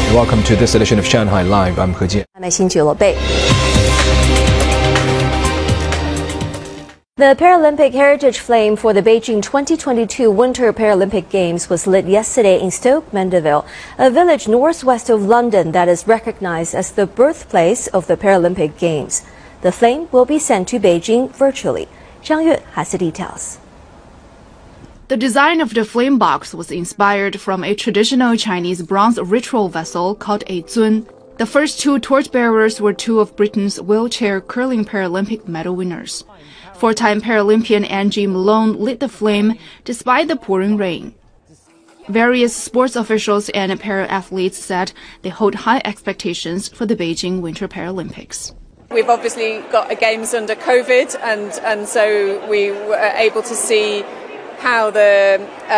Welcome to this edition of Shanghai Live. I'm He Jian. 耐心俱乐部。The Paralympic heritage flame for the Beijing 2022 Winter Paralympic Games was lit yesterday in Stoke Mandeville, a village northwest of London that is recognized as the birthplace of the Paralympic Games. The flame will be sent to Beijing virtually. Zhang Yue has the details. The design of the flame box was inspired from a traditional Chinese bronze ritual vessel called a zun. The first two torchbearers were two of Britain's wheelchair curling Paralympic medal winners. Four-time Paralympian Angie Malone lit the flame despite the pouring rain. Various sports officials and para-athletes said they hold high expectations for the Beijing Winter Paralympics. We've obviously got a Games under COVID, and so we were able to see how the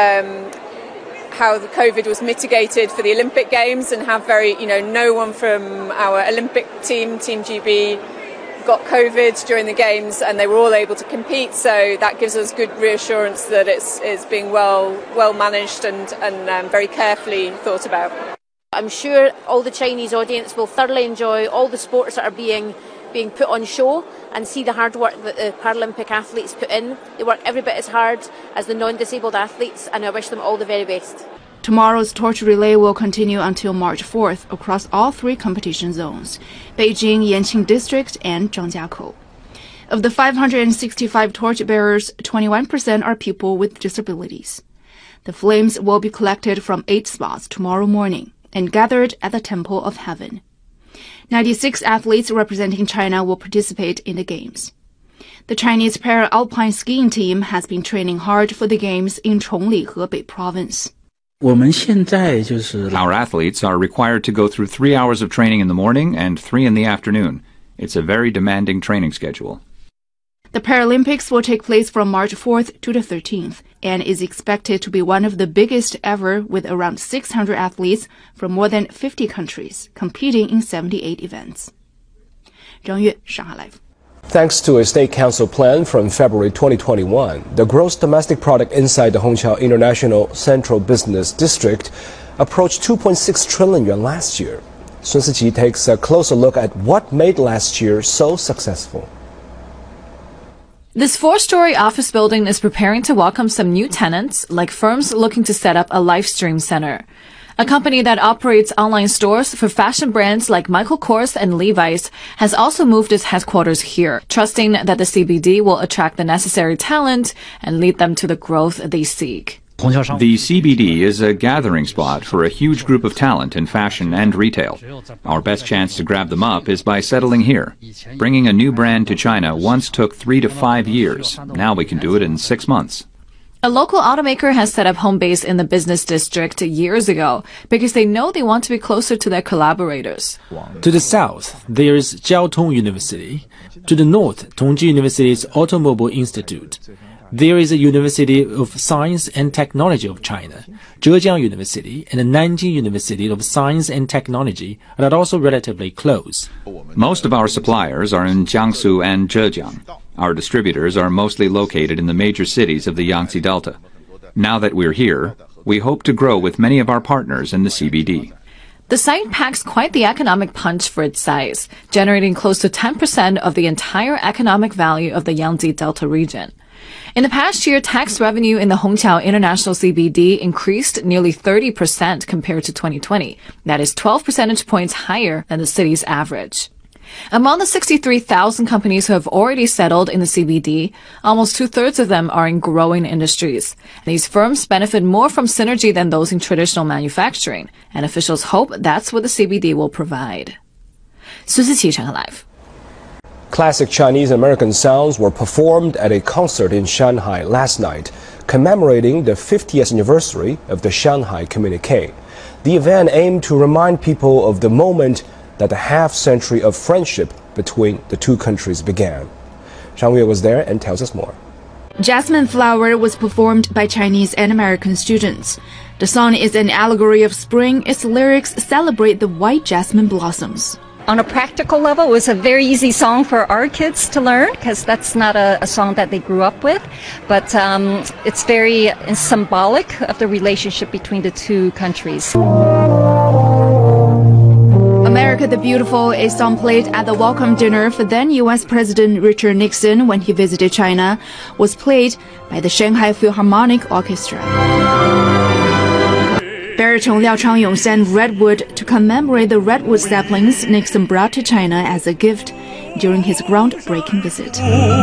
COVID was mitigated for the Olympic Games, and have no one from our Olympic team, Team GB, got COVID during the Games, and they were all able to compete. So that gives us good reassurance that it's being well managed and very carefully thought about. I'm sure all the Chinese audience will thoroughly enjoy all the sports that are being put on show and see the hard work that the Paralympic athletes put in. They work every bit as hard as the non-disabled athletes, and I wish them all the very best. Tomorrow's torch relay will continue until March 4th across all three competition zones: Beijing, Yanqing District, and Zhangjiakou. Of the 565 torchbearers, 21% are people with disabilities. The flames will be collected from 8 spots tomorrow morning and gathered at the Temple of Heaven. 96 athletes representing China will participate in the Games. The Chinese para-alpine skiing team has been training hard for the Games in Chongli, Hebei Province. Our athletes are required to go through 3 hours of training in the morning and 3 in the afternoon. It's a very demanding training schedule. The Paralympics will take place from March 4th to the 13th and is expected to be one of the biggest ever, with around 600 athletes from more than 50 countries competing in 78 events. Zhang Yue, Shanghai Live. Thanks to a state council plan from February 2021, the gross domestic product inside the Hongqiao International Central Business District approached 2.6 trillion yuan last year. Sun Siqi takes a closer look at what made last year so successful. This 4-story office building is preparing to welcome some new tenants, like firms looking to set up a live stream center. A company that operates online stores for fashion brands like Michael Kors and Levi's has also moved its headquarters here, trusting that the CBD will attract the necessary talent and lead them to the growth they seek. The CBD is a gathering spot for a huge group of talent in fashion and retail. Our best chance to grab them up is by settling here. Bringing a new brand to China once took 3 to 5 years. Now we can do it in 6 months. A local automaker has set up home base in the business district years ago because they know they want to be closer to their collaborators. To the south, there is Jiao Tong University. To the north, Tongji University's Automobile Institute. There is a University of Science and Technology of China, Zhejiang University, and the Nanjing University of Science and Technology are also relatively close. Most of our suppliers are in Jiangsu and Zhejiang. Our distributors are mostly located in the major cities of the Yangtze Delta. Now that we're here, we hope to grow with many of our partners in the CBD. The site packs quite the economic punch for its size, generating close to 10% of the entire economic value of the Yangtze Delta region. In the past year, tax revenue in the Hongqiao International CBD increased nearly 30% compared to 2020. That is 12 percentage points higher than the city's average. Among the 63,000 companies who have already settled in the CBD, almost 2/3 of them are in growing industries. These firms benefit more from synergy than those in traditional manufacturing, and officials hope that's what the CBD will provide. Sun Siqi, Shanghai Live. Classic Chinese and American sounds were performed at a concert in Shanghai last night, commemorating the 50th anniversary of the Shanghai Communique. The event aimed to remind people of the moment that the half-century of friendship between the two countries began. Zhang Yue was there and tells us more. Jasmine Flower was performed by Chinese and American students. The song is an allegory of spring. Its lyrics celebrate the white jasmine blossoms. On a practical level, it was a very easy song for our kids to learn because that's not a song that they grew up with. But it's very symbolic of the relationship between the two countries. America the Beautiful, a song played at the welcome dinner for then U.S. President Richard Nixon when he visited China, was played by the Shanghai Philharmonic Orchestra. Baritone Liao Changyong sang Redwood to commemorate the redwood saplings Nixon brought to China as a gift during his groundbreaking visit.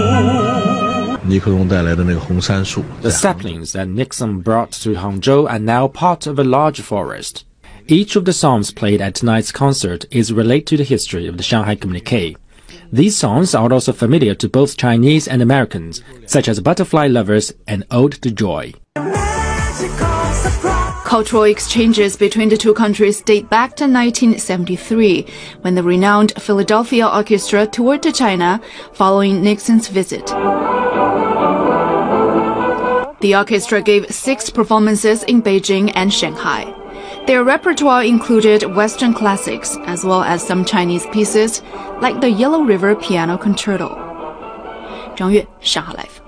The saplings that Nixon brought to Hangzhou are now part of a large forest. Each of the songs played at tonight's concert is related to the history of the Shanghai Communique. These songs are also familiar to both Chinese and Americans, such as Butterfly Lovers and Ode to Joy. Cultural exchanges between the two countries date back to 1973, when the renowned Philadelphia Orchestra toured to China following Nixon's visit. The orchestra gave 6 performances in Beijing and Shanghai. Their repertoire included Western classics as well as some Chinese pieces, like the Yellow River Piano Concerto. 张悦，上海 Live。